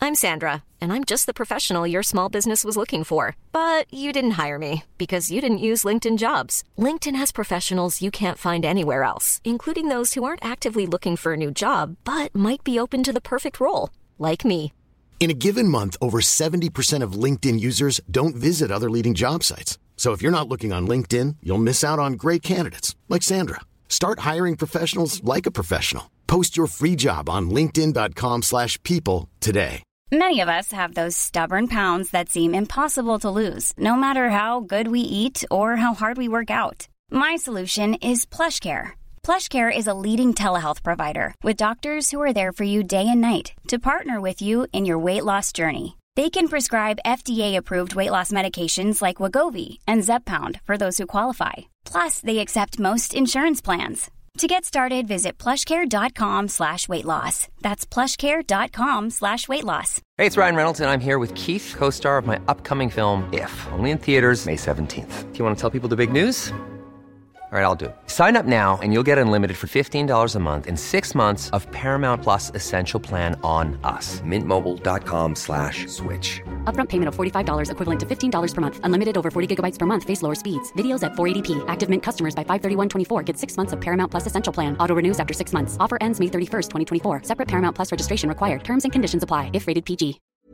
I'm Sandra, and I'm just the professional your small business was looking for. But you didn't hire me because you didn't use LinkedIn Jobs. LinkedIn has professionals you can't find anywhere else, including those who aren't actively looking for a new job, but might be open to the perfect role, like me. In a given month, over 70% of LinkedIn users don't visit other leading job sites. So if you're not looking on LinkedIn, you'll miss out on great candidates like Sandra. Start hiring professionals like a professional. Post your free job on linkedin.com/people today. Many of us have those stubborn pounds that seem impossible to lose, no matter how good we eat or how hard we work out. My solution is PlushCare. PlushCare is a leading telehealth provider with doctors who are there for you day and night to partner with you in your weight loss journey. They can prescribe FDA-approved weight loss medications like Wegovy and Zepbound for those who qualify. Plus, they accept most insurance plans. To get started, visit plushcare.com/weightloss. That's plushcare.com/weightloss. Hey, it's Ryan Reynolds, and I'm here with Keith, co-star of my upcoming film, If, only in theaters May 17th. Do you want to tell people the big news? All right, I'll do it. Sign up now and you'll get unlimited for $15 a month and 6 months of Paramount Plus Essential Plan on us. MintMobile.com/switch. Upfront payment of $45 equivalent to $15 per month. Unlimited over 40 gigabytes per month. Face lower speeds. Videos at 480p. Active Mint customers by 531.24 get 6 months of Paramount Plus Essential Plan. Auto renews after 6 months. Offer ends May 31st, 2024. Separate Paramount Plus registration required. Terms and conditions apply if rated PG.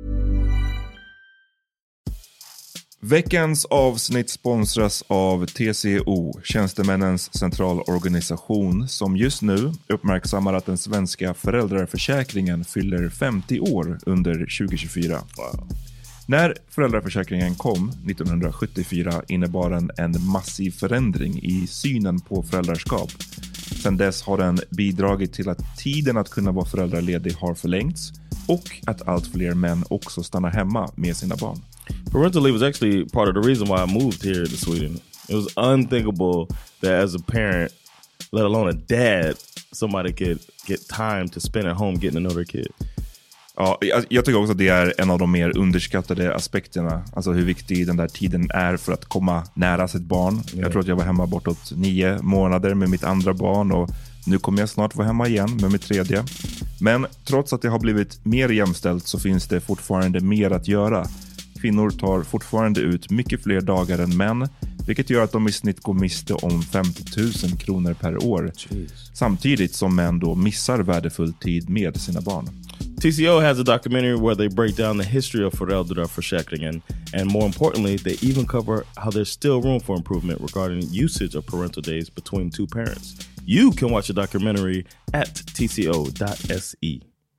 Veckans avsnitt sponsras av TCO, Tjänstemännens centralorganisation, som just nu uppmärksammar att den svenska föräldraförsäkringen fyller 50 år under 2024. Wow. När föräldraförsäkringen kom 1974 innebar den en massiv förändring i synen på föräldraskap. Sedan dess har den bidragit till att tiden att kunna vara föräldraledig har förlängts och att allt fler män också stannar hemma med sina barn. Parental leave was actually part of the reason why I moved here to Sweden. It was unthinkable that as a parent, let alone a dad, somebody could get time to spend at home getting to know their kid. Ja, jag tycker också att det är en av de mer underskattade aspekterna. Alltså hur viktig den där tiden är för att komma nära sitt barn. Yeah. Jag tror att jag var hemma bortåt 9 månader med mitt andra barn och nu kommer jag snart vara hemma igen med mitt tredje. Men trots att det har blivit mer jämställt så finns det fortfarande mer att göra. Kvinnor tar fortfarande ut mycket fler dagar än män, vilket gör att de i snitt går miste om 50 000 kronor per år. Jeez. Samtidigt som män då missar värdefull tid med sina barn. TCO has a documentary where they break down the history of föräldraförsäkringen, and more importantly, they even cover how there's still room for improvement regarding usage of parental days between two parents. You can watch the documentary at tco.se.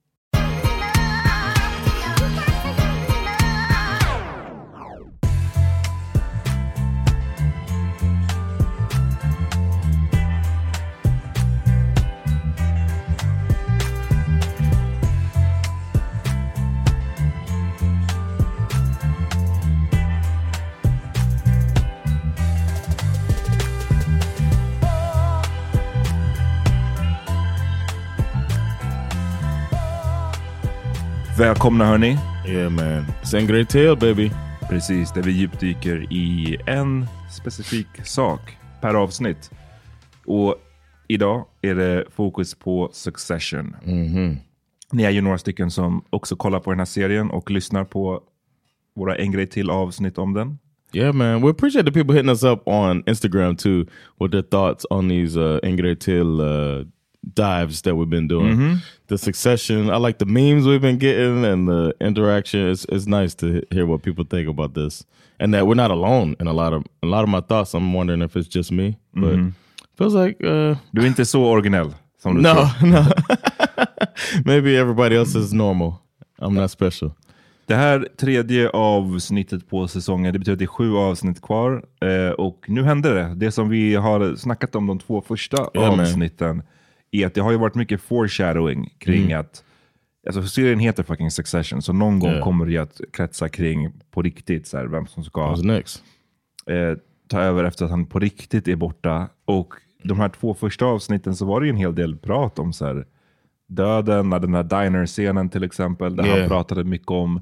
Välkomna hörni. Yeah man, it's a great tale baby. Precis, där vi djupdyker i en specifik sak per avsnitt. Och idag är det fokus på Succession. Mm-hmm. Ni är ju några stycken som också kollar på den här serien och lyssnar på våra en grej till avsnitt om den. Yeah man, we appreciate the people hitting us up on Instagram too with their thoughts on these en grej till dives that we've been doing. Mm-hmm. The Succession, I like the memes we've been getting and the interaction. It's nice to hear what people think about this, and that we're not alone in a lot of my thoughts. I'm wondering if it's just me, but feels like du är inte så originell som du no tror. no maybe everybody else is normal. I'm not special. Det här tredje avsnittet på säsongen, det betyder att det är 7 avsnitt kvar, och nu händer det som vi har snackat om de 2 första avsnitten. Är att det har ju varit mycket foreshadowing kring att, alltså serien heter fucking Succession, så någon gång kommer det att kretsa kring på riktigt så här, vem som ska ta över efter att han på riktigt är borta. Och de här 2 första avsnitten så var det ju en hel del prat om så här, döden, den här diner-scenen till exempel, där han pratade mycket om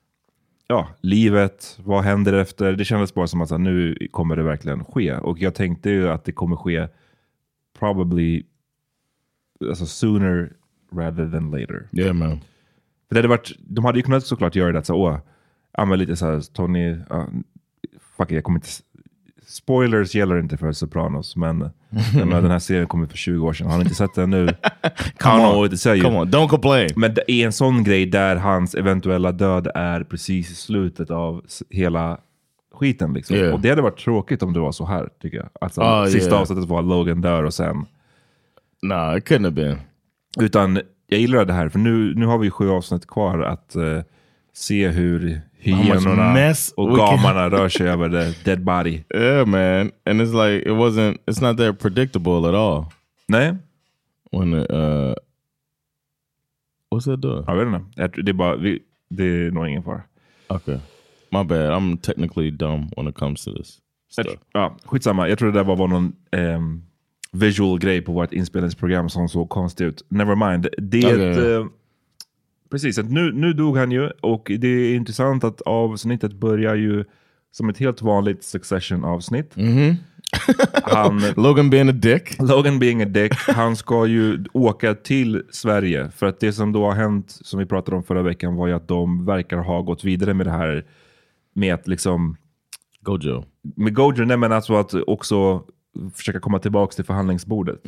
livet, vad händer efter. Det kändes bara som att så här, nu kommer det verkligen ske. Och jag tänkte ju att det kommer ske probably, alltså sooner rather than later. Yeah man. För det hade varit, de hade ju kunnat såklart göra det så men lite så här Tony, fuck jag kommer inte, spoilers gäller inte för Sopranos, men den här serien kommer för 20 år sedan. Har ni inte sett den nu? Come on, don't complain. Men det är en sån grej där hans eventuella död är precis i slutet av hela skiten liksom. Yeah. Och det hade varit tråkigt om det var så här, tycker jag. Alltså, sista avsnittet var Logan dör och sen... No, it couldn't have been. Utan jag gillar det här, för nu har vi 7 avsnitt kvar att se hur hyenorna och gamarna rör sig över the dead body. Yeah, man. And it's like, it's not that predictable at all. Nej. When what's that doing? Jag vet inte. Det är bara, det är nog ingen fara. Okay. My bad. I'm technically dumb when it comes to this stuff. Ja, skitsamma. Jag tror det där var någon visual grej på vårt inspelningsprogram som såg konstigt ut. Never mind. Precis, att nu dog han ju, och det är intressant att avsnittet börjar ju som ett helt vanligt Succession-avsnitt. Logan being a dick. Han ska ju åka till Sverige, för att det som då har hänt, som vi pratade om förra veckan, var ju att de verkar ha gått vidare med det här med att liksom Gojo, nej, men alltså att också försöka komma tillbaka till förhandlingsbordet.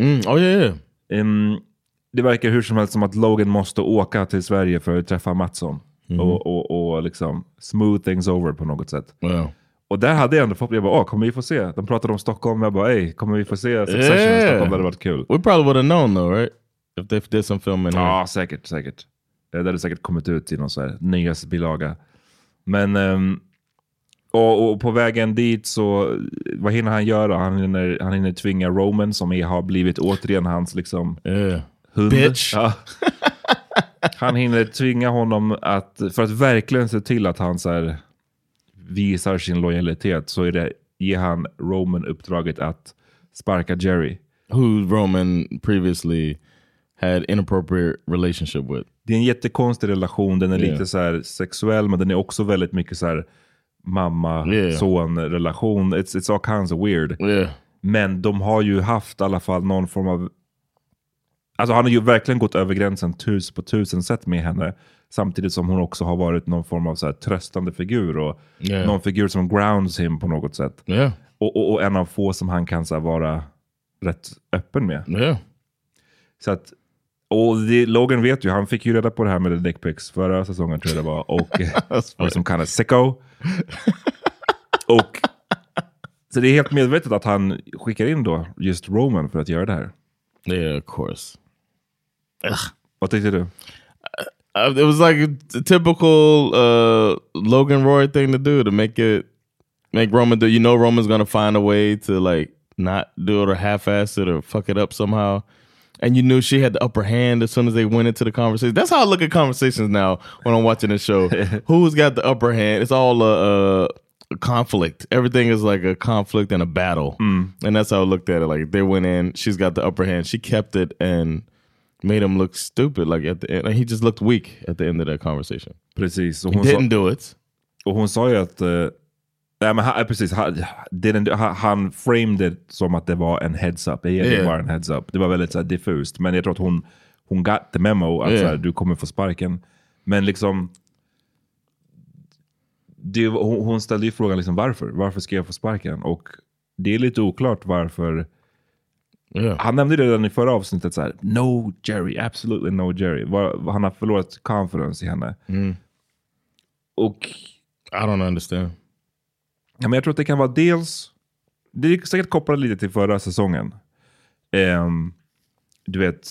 Det verkar hur som helst som att Logan måste åka till Sverige för att träffa Mattsson och liksom smooth things over på något sätt. Och där hade jag ändå fått, jag bara, kommer vi få se? De pratade om Stockholm, jag bara, kommer vi få se Succession i Stockholm? Det hade varit kul. We probably would have known though, right? If they did some filming. Ja, säkert. Det hade säkert kommit ut i någon så här nyhetsbilaga. Men och på vägen dit så, vad hinner han göra? Han hinner tvinga Roman, som har blivit återigen hans liksom hund. Bitch. Ja. Han hinner tvinga honom för att verkligen se till att han så här visar sin lojalitet, så ger han Roman uppdraget att sparka Jerry. Who Roman previously had inappropriate relationship with. Det är en jättekonstig relation. Den är lite så här sexuell, men den är också väldigt mycket så här mamma-son-relation. It's all kinds of weird. Men de har ju haft i alla fall någon form av... Alltså han har ju verkligen gått över gränsen 1000 sätt med henne. Samtidigt som hon också har varit någon form av så här tröstande figur. Och någon figur som grounds him på något sätt. Och en av få som han kan så här vara rätt öppen med. Så att... Och Logan vet ju, han fick ju reda på det här med the dick pics förra säsongen, tror jag det var. Och var som kind of sicko. Och så det är helt medvetet att han skickar in då just Roman för att göra det här. Yeah, of course. Vad tyckte du? It was like a typical Logan Roy thing to do, to make Roman do. You know Roman's gonna find a way to like not do it or half-ass it or fuck it up somehow. And you knew she had the upper hand as soon as they went into the conversation. That's how I look at conversations now when I'm watching this show. Who's got the upper hand? It's all a conflict. Everything is like a conflict and a battle. And that's how I looked at it. Like they went in, she's got the upper hand. She kept it and made him look stupid. Like at the end, he just looked weak at the end of that conversation. Precis. He didn't do it. Och hon sa ju att... Nej, men precis, han framed det som att det var en heads up. Det var en heads up. Det var väldigt så här diffust. Men jag tror att hon got the memo att så här, du kommer få sparken. Men liksom hon ställde ju frågan liksom, varför ska jag få sparken? Och det är lite oklart varför. Han nämnde det redan i förra avsnittet så här, no Jerry, absolutely no Jerry. Han har förlorat confidence i henne. Och I don't understand. Ja, men jag tror att det kan vara dels... Det är säkert kopplat lite till förra säsongen. Du vet...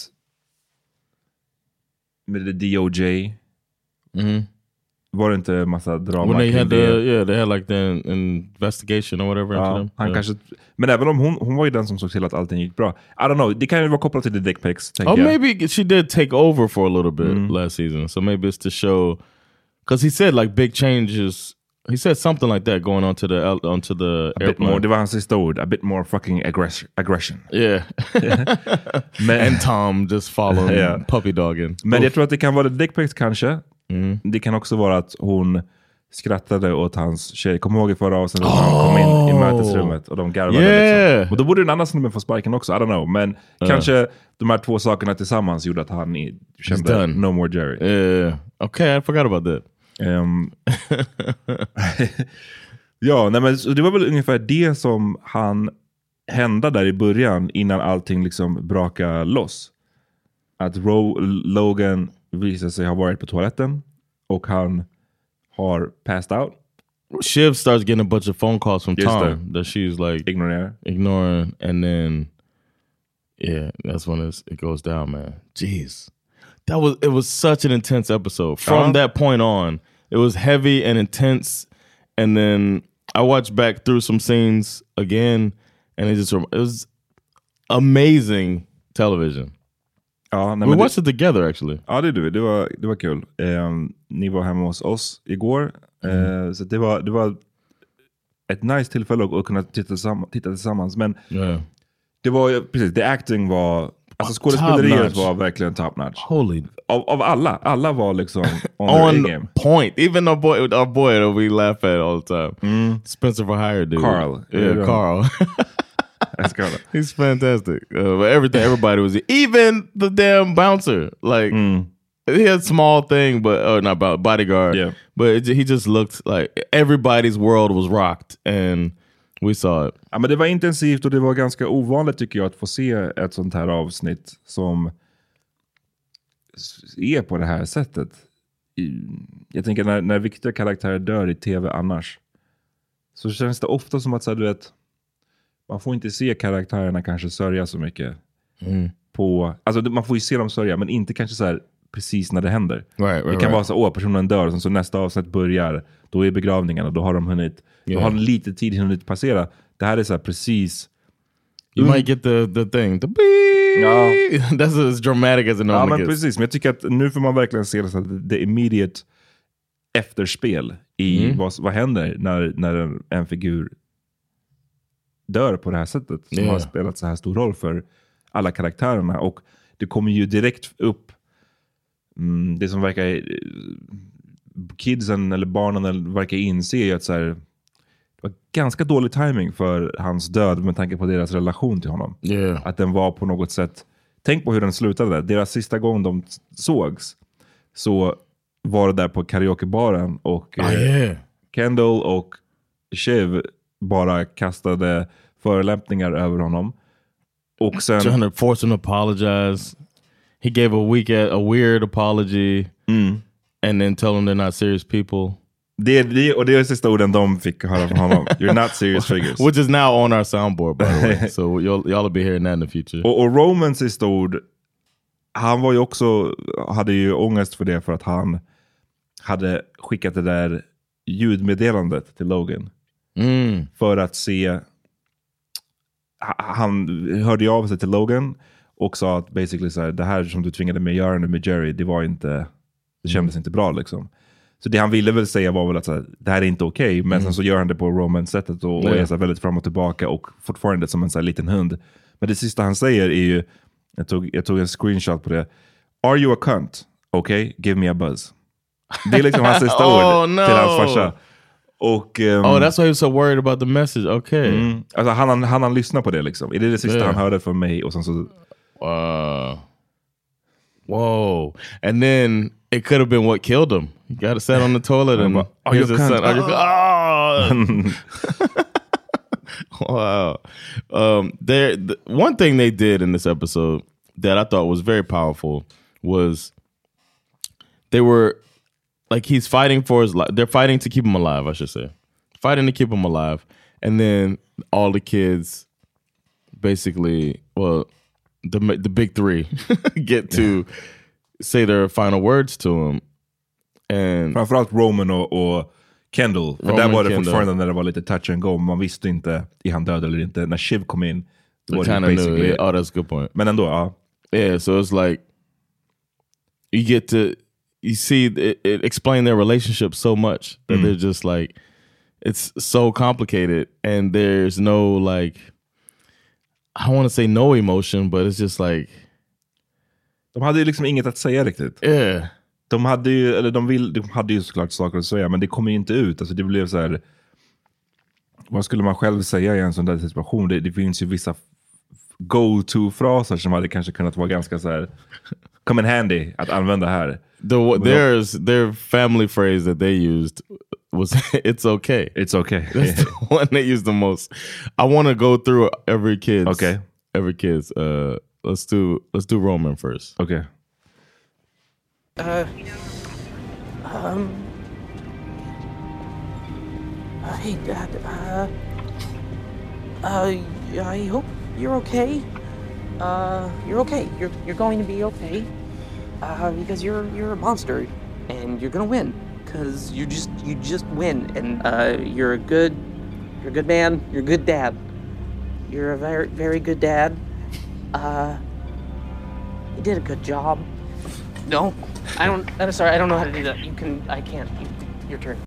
Med det DOJ. Var det inte en massa drama? When they had like the investigation or whatever. Ja, han kanske... Men även om hon var ju den som såg till att allting gick bra. I don't know, det kan ju vara kopplat till the dick pics. Maybe she did take over for a little bit last season. So maybe it's to show... Because he said like big changes... He said something like that going onto the airplane. Bit more, det var hans sista ord. A bit more fucking aggression. Yeah. And Tom just following puppy dogging. Men jag tror att det kan vara the dick pics kanske. Det kan också vara att hon skrattade åt hans tjej. Kom ihåg i förra avsnittet när han kom in i mötesrummet och de garvade liksom. Och då borde en annan snubbe få sparken också, I don't know. Men kanske de här två sakerna tillsammans gjorde att han kände no more Jerry. Okay, I forgot about that. Ja, nej, men det var väl ungefär det som hände där i början innan allting liksom brakade loss. Att Logan visade sig ha varit på toaletten och han har passed out. Shiv starts getting a bunch of phone calls from Tom that she's like ignoring, and then that's when it goes down, man. Jeez, it was such an intense episode. From that point on, it was heavy and intense, and then I watched back through some scenes again, and it was amazing television. Ja, we watched it together actually. Ja, det var kul. Ni var hemma hos oss igår. Så det var ett nice tillfälle att kunna titta tillsammans. Men det var precis, the acting var, alltså skådespeleriet var verkligen top notch. Holy. Av alla var liksom on game. Point. Even our boy that we laugh at all the time. Spencer for Hire dude. Carl. Yeah, Carl. That's he's fantastic. Everybody was, even the damn bouncer. Like he had a small thing, but not about bodyguard. Yeah. But he just looked like everybody's world was rocked, and we saw it. Ja, men det var intensivt och det var ganska ovanligt tycker jag att få se ett sånt här avsnitt som är på det här sättet. Jag tänker när viktiga karaktärer dör i tv annars, så känns det ofta som att så här, du vet, man får inte se karaktärerna kanske sörja så mycket på, alltså man får ju se dem sörja, men inte kanske så här precis när det händer. Det kan vara så, personen dör och så nästa avsnitt börjar, då är begravningen och då har de hunnit, då har de lite tid hunnit passera. Det här är så här precis. You might get the thing. The beep. That's as dramatic as it normally gets. Precis, men jag tycker att nu får man verkligen se det så att det immediate efterspel i vad händer när en figur dör på det här sättet som har spelat så här stor roll för alla karaktärerna. Och det kommer ju direkt upp det som verkar kidsen eller barnen verkar inse att så här, det var ganska dålig timing för hans död med tanke på deras relation till honom. Att den var på något sätt, tänk på hur den slutade. Deras sista gång de sågs så var det där på karaokebaren och Kendall och Shiv bara kastade förolämpningar över honom. Och sen trying to force him to apologize. He gave a weird apology and then told them they're not serious people. Det är sista orden de fick höra från honom. You're not serious figures. Which is now on our soundboard, by the way. So y'all will be hearing that in the future. Och Romans sista ord, han var ju också, hade ju ångest för det, för att han hade skickat det där ljudmeddelandet till Logan. För att se, han hörde ju av sig till Logan och sa att basically så här, det här som du tvingade mig göra nu med Jerry, det var inte, det kändes inte bra liksom. Så det han ville väl säga var väl att så här, det här är inte okej, men sen så gör han det på Roman-sättet och är så här väldigt fram och tillbaka och fortfarande som en så här liten hund. Men det sista han säger är ju, jag tog en screenshot på det. Are you a cunt? Okay, give me a buzz. Det är liksom hans sista ord till hans farsa. Och, that's why he was so worried about the message. Okay. Alltså han lyssnar på det liksom. Är det sista han hörde från mig? Och sen så... Whoa. And then it could have been what killed him. He got to sit on the toilet and... Wow. One thing they did in this episode that I thought was very powerful was they were... Like, he's fighting for his life. They're fighting to keep him alive, I should say. Fighting to keep him alive. And then all the kids basically, well, the big three get to say their final words to him. And framförallt Roman och Kendall. För där var det fortfarande när det var lite touch and go. Man visste inte, är han död eller inte. När Shiv kom in, då var det basically... Knew, oh, that's a good point. Men ändå, ja. Yeah, so it's like, you get to... You see, it explained their relationship so much that they're just like, it's so complicated, and there's no like, I don't want to say no emotion, but it's just like, de hade ju liksom inget att säga riktigt. Yeah. De hade ju såklart saker att säga, men det kommer ju inte ut. Alltså det blev så här, vad skulle man själv säga i en sån där situation? Det finns ju vissa go-to-fraser som hade kanske kunnat vara ganska så här come in handy att använda här. Their family phrase that they used was "It's okay." It's okay. That's the one they used the most. I want to go through every kid's. Okay. Every kid's. Let's do Roman first. Okay. Hey, Dad. I hope you're okay. You're okay. You're going to be okay. Because you're a monster, and you're gonna win. Cause you just win, and you're a good man. You're a good dad. You're a very, very good dad. You did a good job. No, I'm sorry. I don't know how to do that. I can't. Your turn.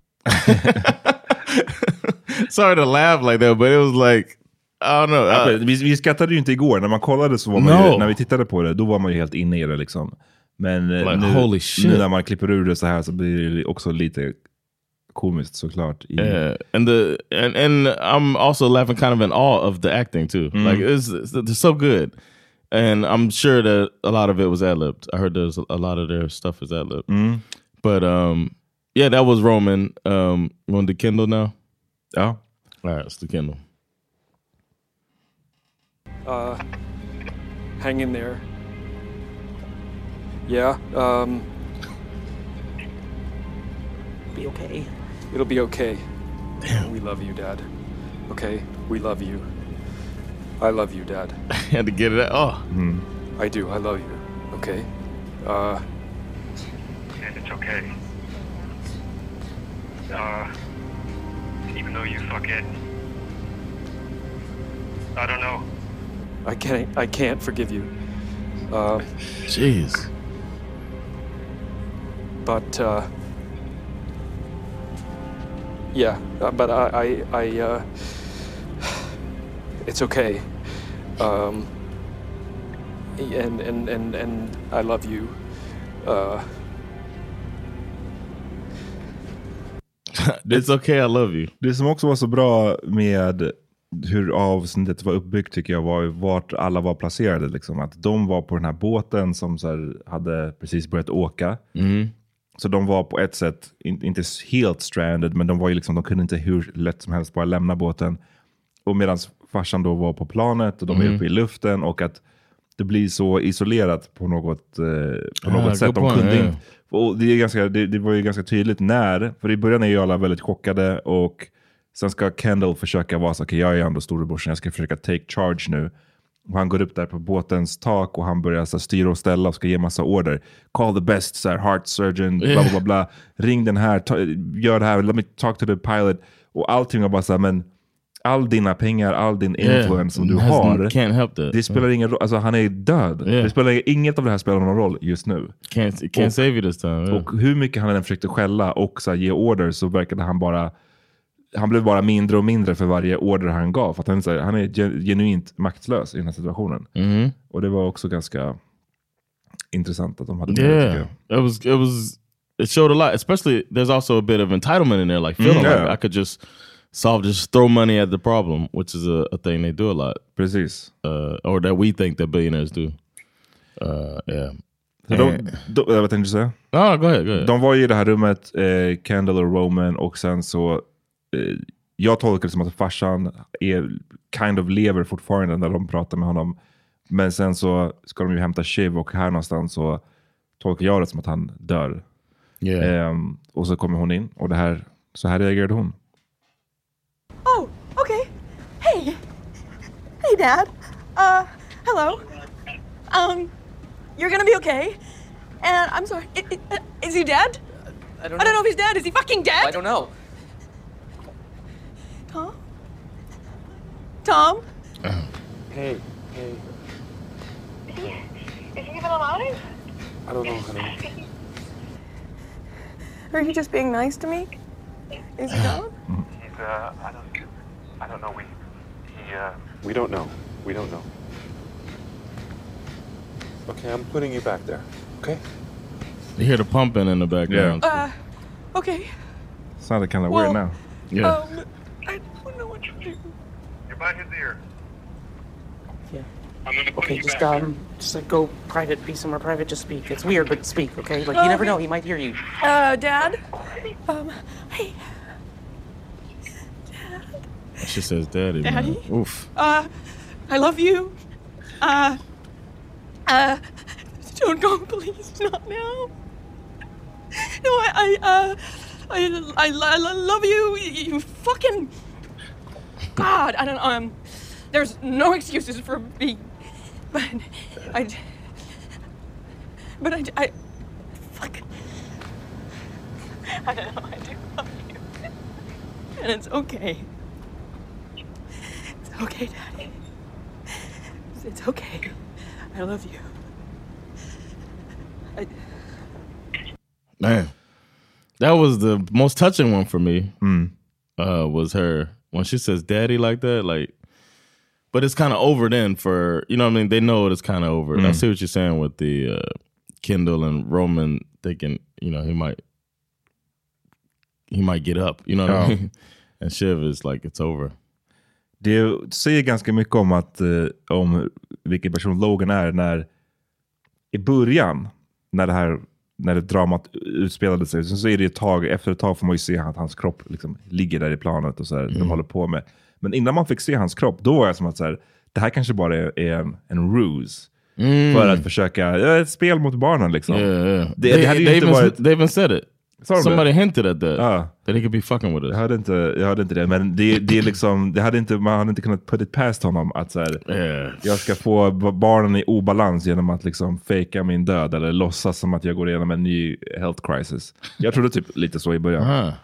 Sorry to laugh like that, but it was like, I don't know. Vi skrattade ju inte igår. När man kollade så var man ju, när vi tittade på det, då var man ju helt inne i det liksom. Men like, nu när man klipper ur det så här så blir det också lite komiskt såklart. Yeah, and I'm also laughing kind of in awe of the acting too. Like they're so good. And I'm sure that a lot of it was ad-libbed. I heard there's a lot of their stuff is ad-libbed. But yeah, that was Roman. You want to do Kendall now? Yeah. All right, let's do Kendall. Hang in there. Yeah, Be okay. it'll be okay. Damn. We love you, Dad. Okay? We love you. I love you, Dad. I had to get it out. Oh. I do. I love you. Okay? And it's okay. Even though you fuck it. I don't know. I can't forgive you. Jeez. But, yeah, but I it's okay. And I love you. It's okay, I love you. Det som också var så bra med hur avsnittet var uppbyggt tycker jag var vart alla var placerade. Liksom. Att de var på den här båten som så här, hade precis börjat åka. Så de var på ett sätt inte helt stranded, men de var ju liksom, de kunde inte hur lätt som helst bara lämna båten. Och medan farsan då var på planet och de var uppe i luften, och att det blir så isolerat på något sätt. De kunde inte, och det var ju ganska tydligt när, för i början är ju alla väldigt chockade, och sen ska Kendall försöka vara så, okej, jag är ändå storebrorsan, jag ska försöka take charge nu. Och han går upp där på båtens tak och han börjar så styra och ställa och ska ge massa order. Call the best så här, heart surgeon, bla bla bla. Ring den här, gör det här, let me talk to the pilot. Och allting var bara så här, men all dina pengar, all din influence som du har, can't help that. Det spelar ingen roll, alltså han är död. Det spelar inget av det här spelar någon roll just nu. Can't save you this time. Och hur mycket han än försökte skälla och så här, ge order, så verkade han blev bara mindre och mindre för varje order han gav. För att han är genuint maktlös i den här situationen. Och det var också ganska intressant att de hade det. It showed a lot. Especially, there's also a bit of entitlement in there. Like, feeling like I could just throw money at the problem, which is a thing they do a lot. Precis. Or that we think that billionaires do. Yeah. Vad tänkte du säga? Go ahead. De var i det här rummet, Kendall och Roman, och sen så jag tolkar det som att farsan kind of lever fortfarande när de pratar med honom. Men sen så ska de ju hämta Shiv, och här någonstans så tolkar jag det som att han dör. Och så kommer hon in, och så här reagerade hon. Oh, okay. Hey, Dad. Hello. You're gonna be okay. And I'm sorry. Is he dead? I don't know if he's dead. Is he fucking dead? I don't know. Tom? Hey. Is he even alive? I don't know, honey. Or are you just being nice to me? Is he gone? He's, I don't know. We don't know. We don't know. Okay, I'm putting you back there. Okay? You hear the pumping in the background. Okay. Sounded kind of weird now. Yeah. I don't know what to do. You're by his ear. Yeah. I'm gonna put Okay, you just back. just like go private, be somewhere private, just speak. It's weird, but speak, okay? Like you never know, he might hear you. Dad? Hey. She says daddy. Daddy? Man. Oof. I love you. Don't go, please, not now. No, I love you. You fucking God. I don't there's no excuses for me, but I fuck. I don't know. I do love you, and it's okay. It's okay, Daddy. It's okay. I love you. Man, that was the most touching one for me. Was her when she says "daddy" like that, like. But it's kind of over then for, you know what I mean? They know it's kind of over. I see what you're saying with the Kendall and Roman thinking, you know, he might get up, you know what I mean? And Shiv is like, it's over. Det säger ganska mycket om att om vilken person Logan är när i början när det dramat utspelade sig, så är det efter ett tag får man ju se att hans kropp liksom ligger där i planet och så här, de håller på med. Men innan man fick se hans kropp, då var jag som att så här, det här kanske bara är en ruse för att försöka ett spel mot barnen liksom. Det hade ju inte varit. They even said it. Somebody hinted at that. That he could be fucking with us. Jag hade inte det, men det är liksom man hade inte kunnat put it past honom att så här, jag ska få barnen i obalans genom att liksom fejka min död eller låtsas som att jag går igenom en ny health crisis. Jag trodde typ lite så i början.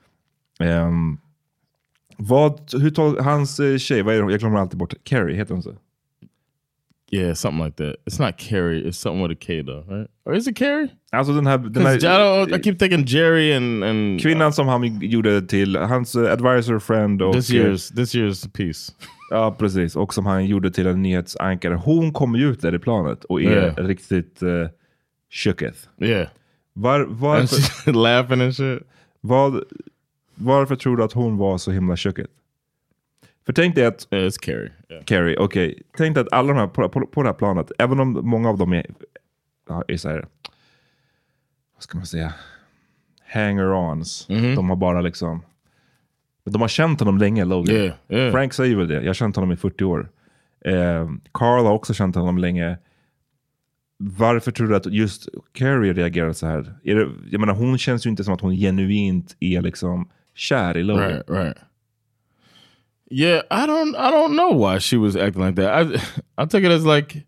Hur tar hans tjej, vad är det? Jag glömmer alltid bort. Carrie, heter hon så? Yeah, something like that. It's not Carrie, it's something with a K though, right? Or is it Carrie? Alltså den här I keep thinking Jerry and kvinnan som han gjorde till hans advisor friend och this year's piece. Ja, precis. Och som han gjorde till en nyhetsankare. Hon kommer ju ut där i planet och är riktigt shooketh. Yeah. Varför laughing and shit. Varför tror du att hon var så himla shooketh? För tänk dig att it's Carrie. Yeah. Carrie, okej. Tänk dig att alla de här på det här planet, även om många av dem är så här, vad ska man säga, hanger-ons. De har bara liksom, de har känt honom länge, Logan. Frank säger väl det. Jag har känt honom i 40 år. Carl har också känt honom länge. Varför tror du att just Carrie reagerar så här? Jag menar, hon känns ju inte som att hon genuint är liksom kär i Logan. Right. Yeah, I don't know why she was acting like that. I took it as like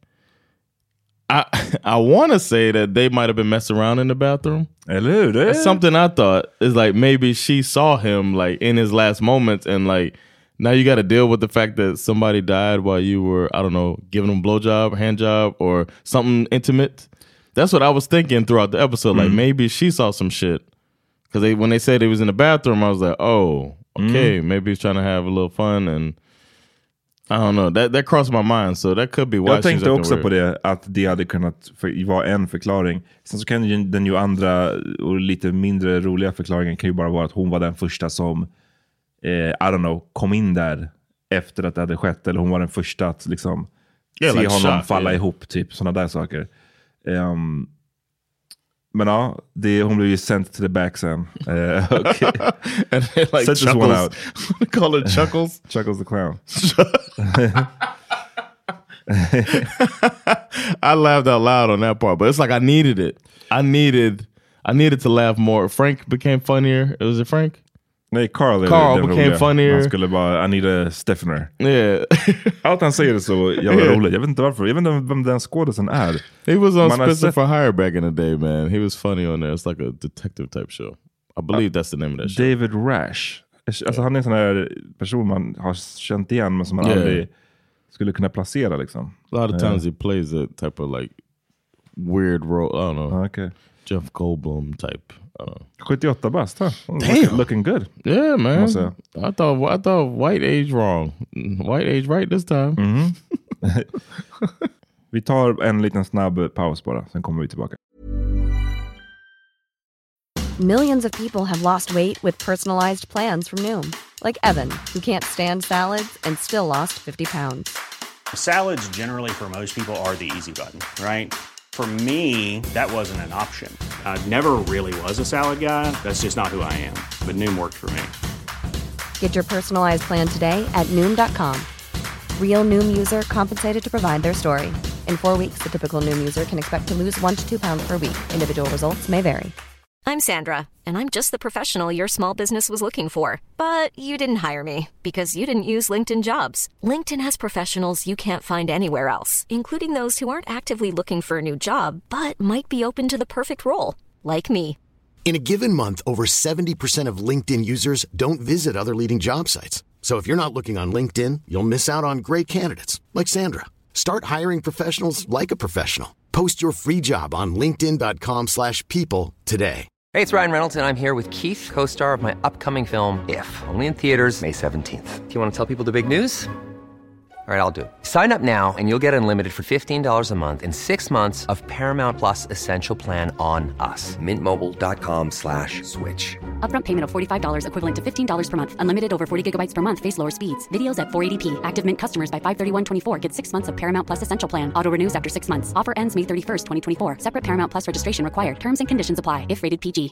I want to say that they might have been messing around in the bathroom. That's something I thought is like maybe she saw him like in his last moments and like now you got to deal with the fact that somebody died while you were, I don't know, giving him a blowjob, hand job, or something intimate. That's what I was thinking throughout the episode. Like maybe she saw some shit because when they said he was in the bathroom, I was like, oh. Okay, maybe he's trying to have a little fun and I don't know. That crossed my mind, so that could be why. Jag tänkte också på det, att det hade kunnat vara en förklaring. Sen så kan ju den ju andra och lite mindre roliga förklaringen kan ju bara vara att hon var den första som I don't know, kom in där efter att det hade skett, eller hon var den första att liksom se like honom falla ihop, typ sådana där saker. Men ja, hon blev ju sent to the back sen. Okay. And they like Set this one out. They call it Chuckles? Chuckles the clown. I laughed out loud on that part, but it's like I needed it. I needed to laugh more. Frank became funnier. Was it Frank? Nej, Carl became funnier. Han skulle bara, I need a stiffener. Yeah. Allt han säger är så jävla roligt. Jag vet inte varför. Jag vet inte vem den skådisen är. He was on Spencer for Hire back in the day, man. He was funny on there. It's like a detective type show. I believe that's the name of that show. David Rash. Alltså han är en sån här person man har känt igen men som man aldrig skulle kunna placera liksom. A lot of times he plays a type of like weird role. I don't know. Okay. Jeff Goldblum type. 78 bast, huh? Damn. Looking good. Yeah, man. I thought white age wrong. White age right this time. Vi tar en liten snabb paus bara, sen kommer vi tillbaka. Millions of people have lost weight with personalized plans from Noom. Like Evan, who can't stand salads and still lost 50 pounds. Salads generally for most people are the easy button, right? For me, that wasn't an option. I never really was a salad guy. That's just not who I am. But Noom worked for me. Get your personalized plan today at Noom.com. Real Noom user compensated to provide their story. In 4 weeks, the typical Noom user can expect to lose 1 to 2 pounds per week. Individual results may vary. I'm Sandra, and I'm just the professional your small business was looking for. But you didn't hire me because you didn't use LinkedIn Jobs. LinkedIn has professionals you can't find anywhere else, including those who aren't actively looking for a new job, but might be open to the perfect role, like me. In a given month, over 70% of LinkedIn users don't visit other leading job sites. So if you're not looking on LinkedIn, you'll miss out on great candidates like Sandra. Start hiring professionals like a professional. Post your free job on linkedin.com/people today. Hey, it's Ryan Reynolds, and I'm here with Keith, co-star of my upcoming film, If, only in theaters May 17th. Do you want to tell people the big news? All right, I'll do it. Sign up now and you'll get unlimited for $15 a month and 6 months of Paramount Plus Essential Plan on us. MintMobile.com/switch. Upfront payment of $45 equivalent to $15 per month. Unlimited over 40 gigabytes per month. Face lower speeds. Videos at 480p. Active Mint customers by 531.24 get 6 months of Paramount Plus Essential Plan. Auto renews after 6 months. Offer ends May 31st, 2024. Separate Paramount Plus registration required. Terms and conditions apply if rated PG.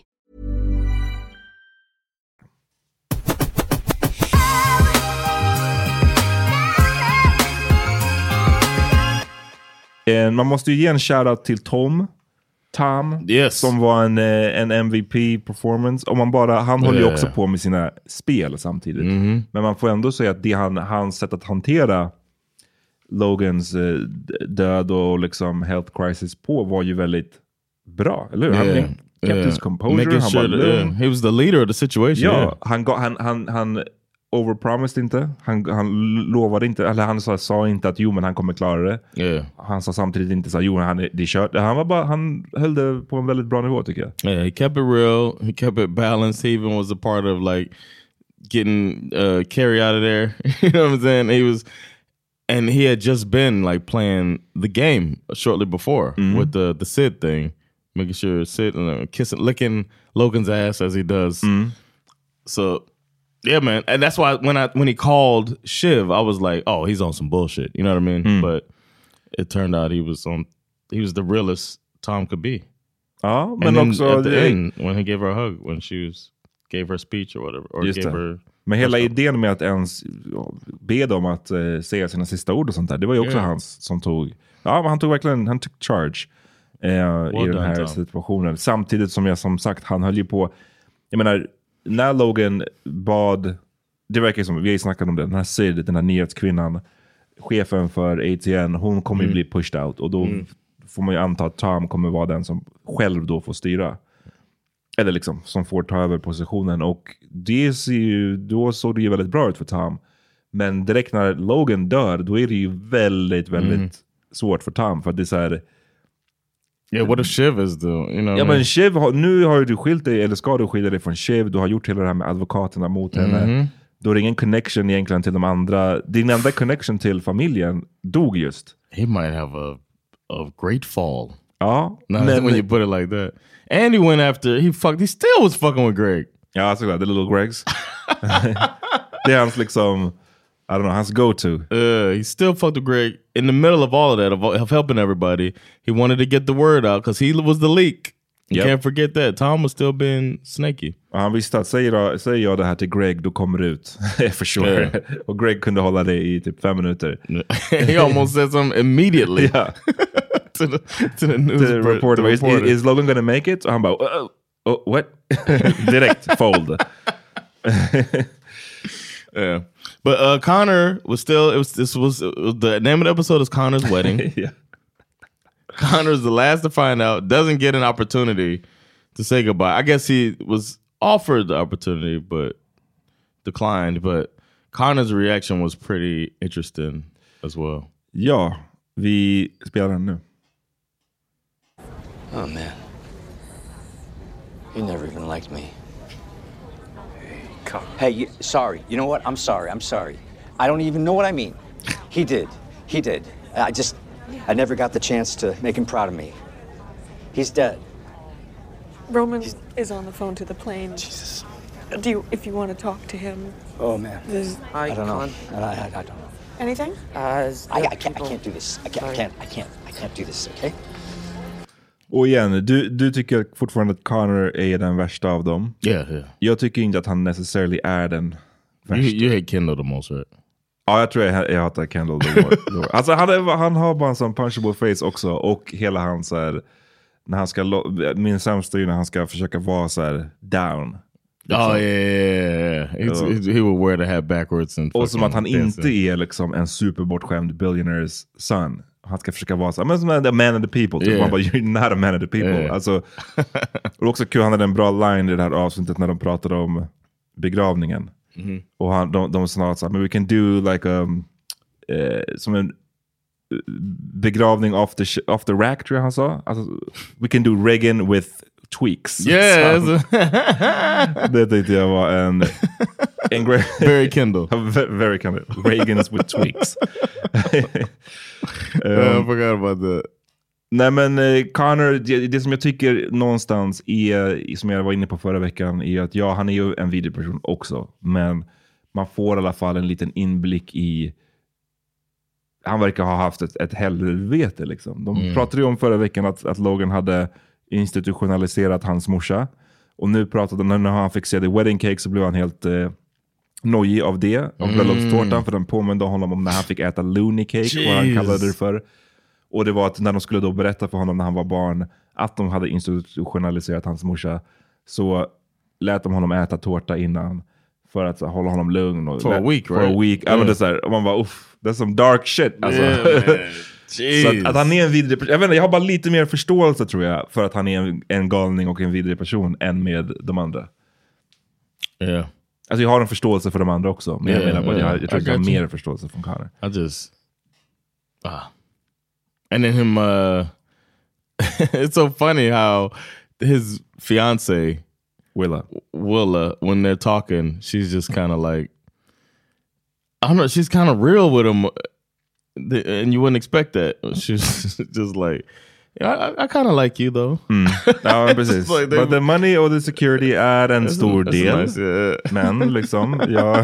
Man måste ju ge en shoutout till Tom, yes, som var en MVP performance. Och han håller ju också på med sina spel samtidigt. Men man får ändå säga att hans sätt att hantera Logans död och liksom health crisis på var ju väldigt bra, eller hur? Han kept his composure, han var he was the leader of the situation. Ja, han overpromised inte. Han lovade inte, eller han sa inte att men han kommer klara det. Han sa samtidigt inte så det är kört. Han höll det på en väldigt bra nivå, tycker jag. Yeah, he kept it real. He kept it balanced. He even was a part of like getting Carrie out of there. You know what I'm saying? And he had just been like playing the game shortly before with the Sid thing, making sure Sid licking Logan's ass as he does. So yeah, man, and that's why when he called Shiv, I was like, oh, he's on some bullshit. You know what I mean? But it turned out he was the realest Tom could be. Ja, men and också at the end, when he gave her a hug, when she gave her speech or whatever, or gave her. Men hela idén med att ens be dem att säga sina sista ord och sånt där, det var ju också hans som tog. Ja, men han tog charge i den här situationen. Samtidigt som jag som sagt, han höll ju på. Jag menar, när Logan bad, det verkar som, vi har ju snackat om det, den här Sid, den här nyhetskvinnan, chefen för ATN, hon kommer ju bli pushed out, och då får man ju anta att Tom kommer vara den som själv då får styra, eller liksom som får ta över positionen, och då såg det ju väldigt bra ut för Tom. Men direkt när Logan dör, då är det ju väldigt, väldigt svårt för Tom, för att det är så här. Yeah, what if Shiv is doing? You know, ja, men Shiv, nu har du skilt dig, eller ska du skilja dig från Shiv? Du har gjort hela det här med advokaterna mot henne. Då är det ingen connection egentligen till de andra. Din enda connection till familjen dog just. He might have a great fall. Ja, men when you put it like that. And he went after, he still was fucking with Greg. Ja, såklart, the little Gregs. Det är hans liksom, I don't know, hans go-to. He still fucked with Greg in the middle of all of that, of helping everybody. He wanted to get the word out because he was the leak. You can't forget that. Tom was still being snaky. Han visste att säger jag det här till Greg, då kommer det ut. For sure. Yeah. Och Greg kunde hålla det i typ 5 minuter. He almost said something immediately. Yeah. to the news reporter. Is Logan gonna make it? Och han bara, oh, what? Direkt fold. Yeah. But Connor was still, the name of the episode is Connor's Wedding. Yeah. Connor's the last to find out, doesn't get an opportunity to say goodbye. I guess he was offered the opportunity but declined, but Connor's reaction was pretty interesting as well. Ja, vi spelar den nu. Oh man. You never even liked me. Hey, sorry. You know what? I'm sorry. I don't even know what I mean. He did. I never got the chance to make him proud of me. He's dead. Roman is on the phone to the plane. Jesus. If you want to talk to him. Oh man. I don't know. I don't know. Anything? I can't do this. I can't do this, okay? Och igen, du tycker fortfarande att Connor är den värsta av dem. Yeah. Jag tycker inte att han necessarily är den värsta. You hate Kendall the most, right? Ja, jag tror jag hatar Kendall the most. Alltså han har bara en sån punchable face också. Och hela hans så här, när han ska, min sämsta är när han ska försöka vara så här down. Liksom. Oh yeah. He would wear the hat backwards. Och som att han inte är liksom en superbortskämd billionaires son. Han ska försöka vara så men som a man of the people. Typ. Man bara, you're not a man of the people. Yeah. Alltså, och också kul, han hade en bra line i det här avsnittet när de pratade om begravningen. Mm-hmm. Och de sa så här, men we can do like som en begravning off the rack, tror jag han sa. Alltså, we can do Reagan with tweaks. Yes. Det tyckte jag var en very Kendall. Very Kendall. Reagan's with tweaks. I forgot about that. Nej men Connor, det som jag tycker någonstans är, som jag var inne på förra veckan, är att han är ju en vidrig person också, men man får i alla fall en liten inblick i, han verkar ha haft ett helvete liksom. De pratade ju om förra veckan att Logan hade institutionaliserat hans morsa, och nu pratade när han fick se The Wedding Cake så blev han helt nojig av det, av bröllopstårtan, för den påminde honom om när han fick äta Looney Cake, vad han kallade det för. Och det var att när de skulle då berätta för honom när han var barn att de hade institutionaliserat hans morsa, så lät de honom äta tårta innan för att hålla honom lugn. Och for a week, right? For a week. Yeah. Så här, och man bara, that's some dark shit. Alltså. Yeah, så att han är en vidrig person. Jag har bara lite mer förståelse, tror jag, för att han är en galning och en vidrig person än med de andra. Yeah. Alltså jag har en förståelse för de andra också. Men jag menar bara, jag tror att jag har mer förståelse från Connor. And then him, it's so funny how his fiance, Willa, when they're talking, she's just kind of like, I don't know, she's kind of real with him. And you wouldn't expect that. She's just like, yeah, I kind of like you though. Ja, precis. Like but the money or the security är en stor del. Nice, yeah. Men liksom, ja.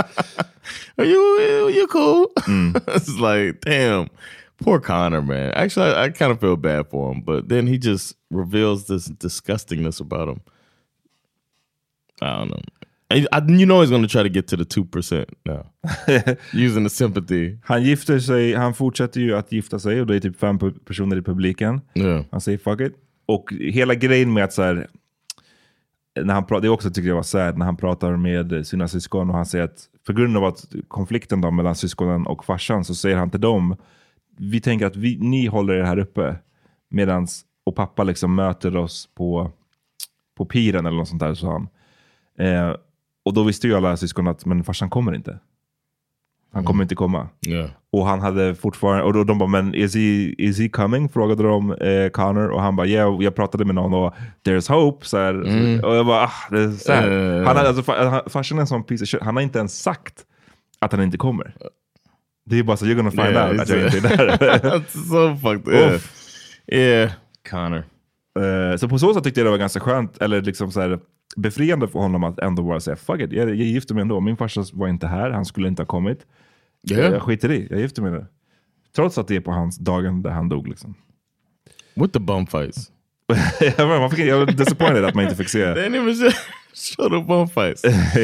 You cool? It's like, damn. Poor Connor, man. Actually, I kind of feel bad for him, but then he just reveals this disgustingness about him. I don't know. You know he's going to try to get to the 2% now. Using the sympathy. Han fortsätter ju att gifta sig, och det är typ 5 personer i publiken. Yeah. Han säger fuck it. Och hela grejen med att så här, när han pratar, det också tycker jag var sad, när han pratar med sina syskon och han säger att på grund av att konflikten då mellan syskonen och farsan, så säger han till dem, vi tänker att ni håller det här uppe medans, och pappa liksom möter oss på piren eller något sånt där, sa han. Och då visste ju alla syskon att men farsan kommer inte. Han kommer inte komma. Yeah. Och han hade fortfarande, och då de bara, men is he coming? Frågade de Connor, och han bara, yeah, jag pratade med någon och there's hope, så här. Och jag bara, det är så här. Han hade, alltså, farsan är en sån piece of shit. Han har inte ens sagt att han inte kommer. Det är bara så, you're gonna find out att jag inte är där. That's so fucked up. Yeah, Connor. Så på så sätt tyckte jag det var ganska skönt, eller liksom så här befriande för honom att ändå bara säga fuck it, jag gifte mig ändå. Min farsa var inte här, han skulle inte ha kommit. Jag skiter i, jag gifte mig nu. Trots att det är på hans dagen där han dog liksom. With the bum fights. Jag var disappointed att man inte fick se. They didn't even show the bum fights.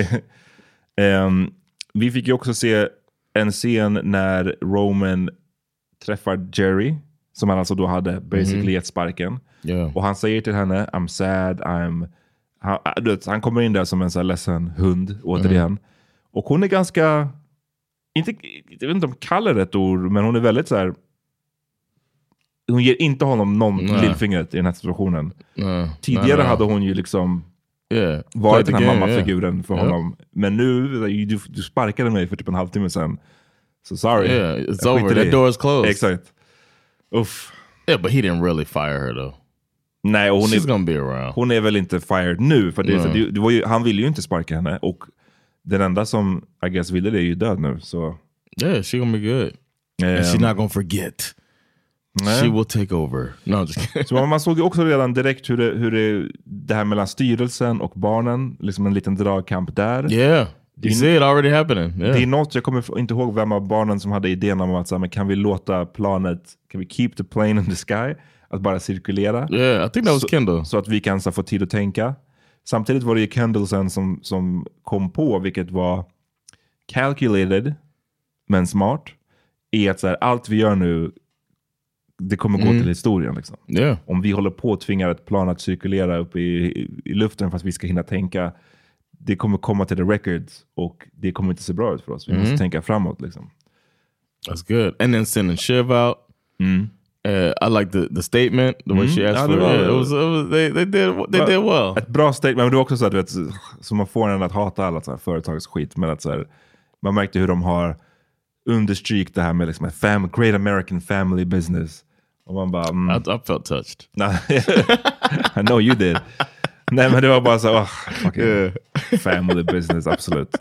Vi fick ju också se en scen när Roman träffar Jerry, som han alltså då hade basically gett sparken. Yeah. Och han säger till henne, I'm sad, han kommer in där som en så här ledsen hund återigen. Och hon är ganska, jag vet inte om kallar rätt ord, men hon är väldigt så här, hon ger inte honom någon lillfingret i den här situationen. Tidigare hade hon ju liksom varit den här mammafiguren för honom. Men nu, du sparkade mig för typ en halvtimme sedan. So sorry. Yeah, it's over. That door is closed. Exakt. Uff. Yeah, but he didn't really fire her though. Nej, och hon är väl inte fired nu, för det var ju, han ville ju inte sparka henne, och den enda som I guess ville det är ju död nu, så yeah, she gonna be good. And she's not gonna forget. She will take over. No, just kidding. Så man såg ju också redan direkt hur det här mellan styrelsen och barnen, liksom en liten dragkamp där. Yeah. You see it already happening. Yeah. Det är något, jag kommer inte ihåg vem av barnen som hade idén om att så här, men kan vi låta planet, kan vi keep the plane in the sky? Att bara cirkulera. Yeah, I think that was Kendall. Så att vi kan så få tid att tänka. Samtidigt var det ju Kendall sen som kom på, vilket var calculated men smart, är att så här, allt vi gör nu, det kommer gå till historien liksom. Yeah. Om vi håller på att tvinga ett plan att cirkulera upp i luften fast vi ska hinna tänka, det kommer komma till the records och det kommer inte se bra ut för oss. Vi måste tänka framåt liksom. That's good. And then sending Shiv out. I like the statement, the way she asked for it. They did well. Ett bra statement, men det var också så att, du vet, som man får en att hata alla så här företagsskit, men att så här, man märkte hur de har understrykt det här med liksom great American family business. Och man bara... I felt touched. I know you did. Nej, men det var bara så, fucking family business, absolut.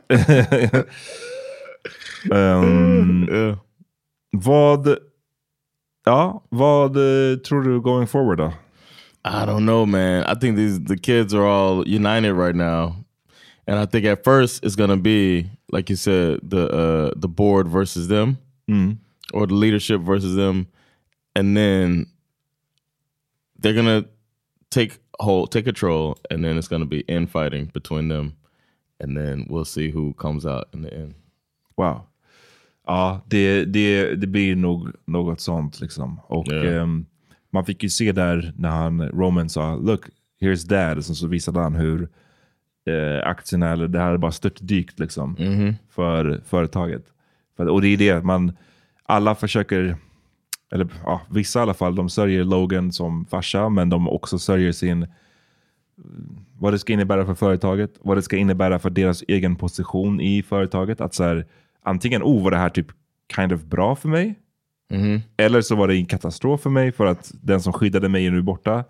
Vad tror du going forward då? I don't know, man. I think the kids are all united right now. And I think at first it's going to be, like you said, the board versus them, or the leadership versus them. And then they're going to take control, and then it's going to be infighting between them. And then we'll see who comes out in the end. Wow. Ja, det blir nog något sånt liksom. Och man fick ju se där när Roman sa, look, here's dad. Och så visade han hur aktierna, eller det här är bara störtdykt liksom, för företaget. Och det är det, alla försöker, eller vissa i alla fall, de sörjer Logan som farsa, men de också sörjer vad det ska innebära för företaget, vad det ska innebära för deras egen position i företaget. Att så här, antingen, var det här typ kind of bra för mig? Eller så var det en katastrof för mig, för att den som skyddade mig är nu borta.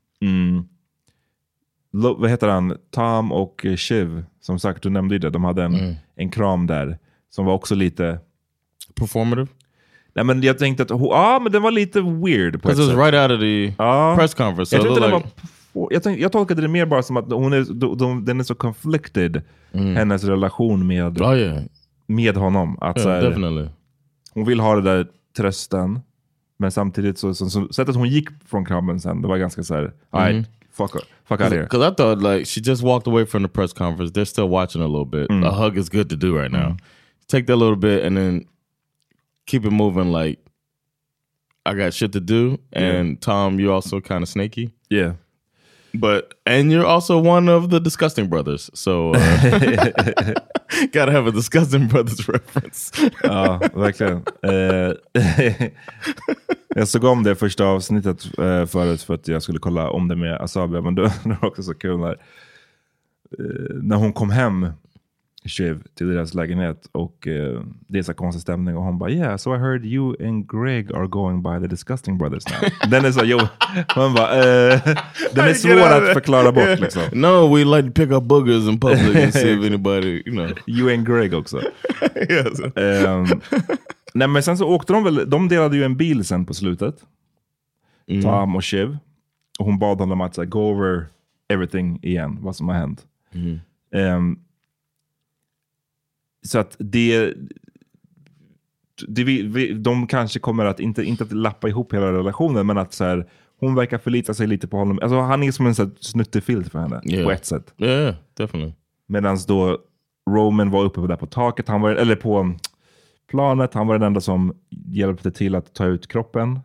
Vad heter han? Tom och Shiv, som sagt, du nämnde ju det. De hade en kram där som var också lite performative. Nej, men jag tänkte att men den var lite weird på ett sätt. It was right out of the press conference. Jag tror inte jag tolkade det mer bara som att den är så conflicted, hennes relation med honom. Att så här, definitely. Hon vill ha det där trösten, men samtidigt så sättet hon gick från kramen sen, det var ganska så här, fuck out here. Because I thought like she just walked away from the press conference. They're still watching a little bit. A hug is good to do right now. Take that little bit and then keep it moving. Like, I got shit to do, and Tom, you're also kind of snaky. Yeah. And you're also one of the Disgusting Brothers, so gotta have a Disgusting Brothers reference. Ja, verkligen. Jag såg om det första avsnittet förut för att jag skulle kolla om det med Asabia, men det var också så kul när hon kom hem, Shiv, till deras lägenhet, och det är så konstig stämning, och hon bara, yeah, so I heard you and Greg are going by the Disgusting Brothers now. Den är så, man bara, den är svår att förklara bort liksom. No, we like to pick up boogers in public and see if anybody, You and Greg också. Yes. Nej, men sen så åkte de delade ju en bil sen på slutet, Tom och Shiv, och hon bad honom att go over everything igen, vad som har hänt. Så att de kanske kommer att inte att lappa ihop hela relationen, men att så här, hon verkar förlita sig lite på honom. Alltså han är som en sån snuttefilt för henne på ett sätt. Yeah, definitely. Medan då Roman var uppe där på taket, eller på planet, han var den enda som hjälpte till att ta ut kroppen.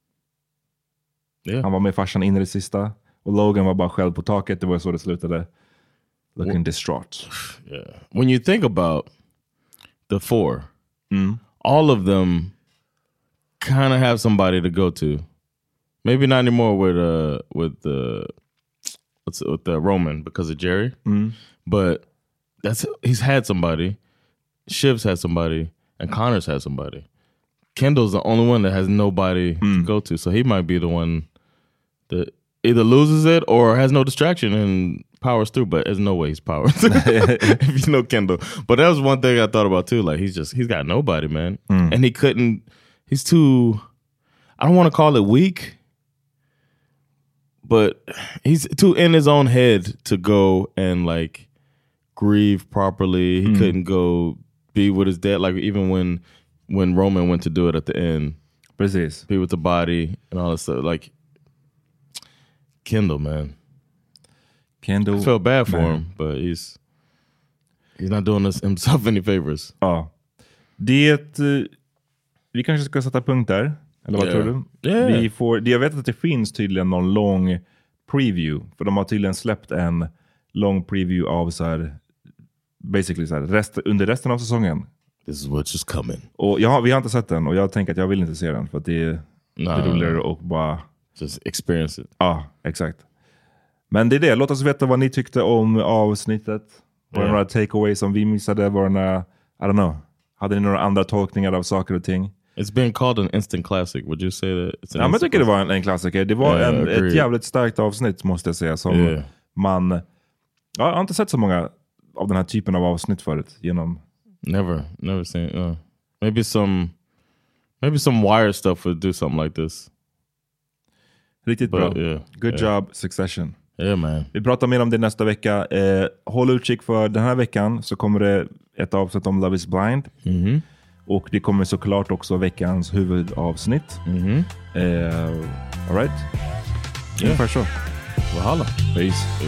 Han var med farsan in i det sista, och Logan var bara själv på taket. Det var så det slutade. Looking distraught. Yeah. When you think about the four, all of them kind of have somebody to go to. Maybe not anymore with Roman because of Jerry, but he's had somebody. Shiv's had somebody, and Connor's had somebody. Kendall's the only one that has nobody to go to, so he might be the one that either loses it or has no distraction and powers through, but there's no way he's powered if you know Kendall. But that was one thing I thought about too. Like he's got nobody, man. And he's too, I don't want to call it weak, but he's too in his own head to go and like grieve properly. He couldn't go be with his dad, like even when Roman went to do it at the end. Precis. Be with the body and all that stuff. Like Kendall, man. I felt bad for him, but he's not doing himself any favors. Ja. Vi kanske ska sätta punkt där. Eller vad tror du? Yeah. Jag vet att det finns tydligen någon lång preview. För de har tydligen släppt en lång preview av så här, basically så här, under resten av säsongen. This is what's just coming. Och vi har inte sett den och jag tänker att jag vill inte se den för att det är roligare och bara just experience it. Ja, exakt. Men det är det. Låt oss veta vad ni tyckte om avsnittet. Var det några takeaways som vi missade? Var det några, I don't know. Hade ni några andra tolkningar av saker och ting? It's been called an instant classic. Would you say that? It's an jag tycker det var en klassiker. Det var ett jävligt starkt avsnitt måste jag säga. Som man... Jag har inte sett så många av den här typen av avsnitt förut. Never seen. Maybe some Wire stuff would do something like this. Riktigt bra. Good job, Succession. Yeah, man. Vi pratar mer om det nästa vecka. Håll utkik för den här veckan så kommer det ett avsnitt om Love is Blind. Och det kommer såklart också veckans huvudavsnitt. All right? Ungefär så. Valhalla. Peace.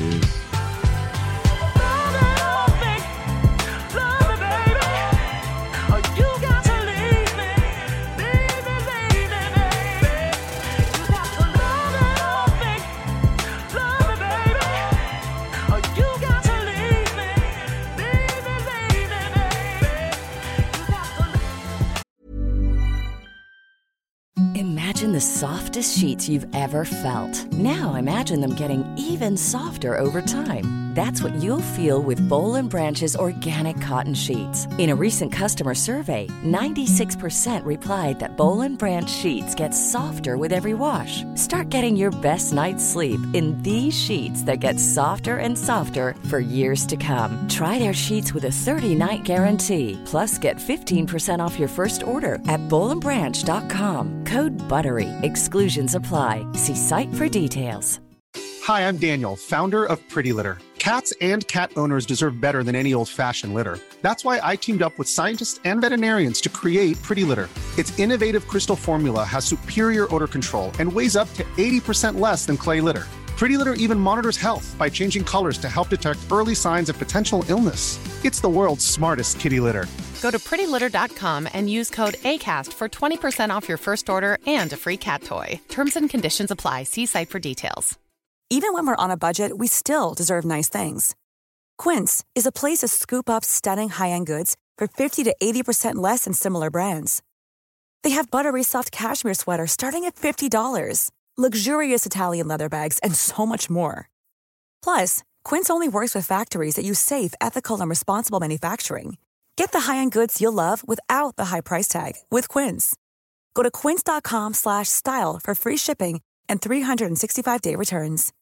Imagine the softest sheets you've ever felt. Now imagine them getting even softer over time. That's what you'll feel with Boll & Branch's organic cotton sheets. In a recent customer survey, 96% replied that Boll & Branch sheets get softer with every wash. Start getting your best night's sleep in these sheets that get softer and softer for years to come. Try their sheets with a 30-night guarantee. Plus, get 15% off your first order at bollandbranch.com. Code BUTTERY. Exclusions apply. See site for details. Hi, I'm Daniel, founder of Pretty Litter. Cats and cat owners deserve better than any old-fashioned litter. That's why I teamed up with scientists and veterinarians to create Pretty Litter. Its innovative crystal formula has superior odor control and weighs up to 80% less than clay litter. Pretty Litter even monitors health by changing colors to help detect early signs of potential illness. It's the world's smartest kitty litter. Go to prettylitter.com and use code ACAST for 20% off your first order and a free cat toy. Terms and conditions apply. See site for details. Even when we're on a budget, we still deserve nice things. Quince is a place to scoop up stunning high-end goods for 50 to 80% less than similar brands. They have buttery soft cashmere sweaters starting at $50, luxurious Italian leather bags, and so much more. Plus, Quince only works with factories that use safe, ethical, and responsible manufacturing. Get the high-end goods you'll love without the high price tag with Quince. Go to quince.com/style for free shipping and 365-day returns.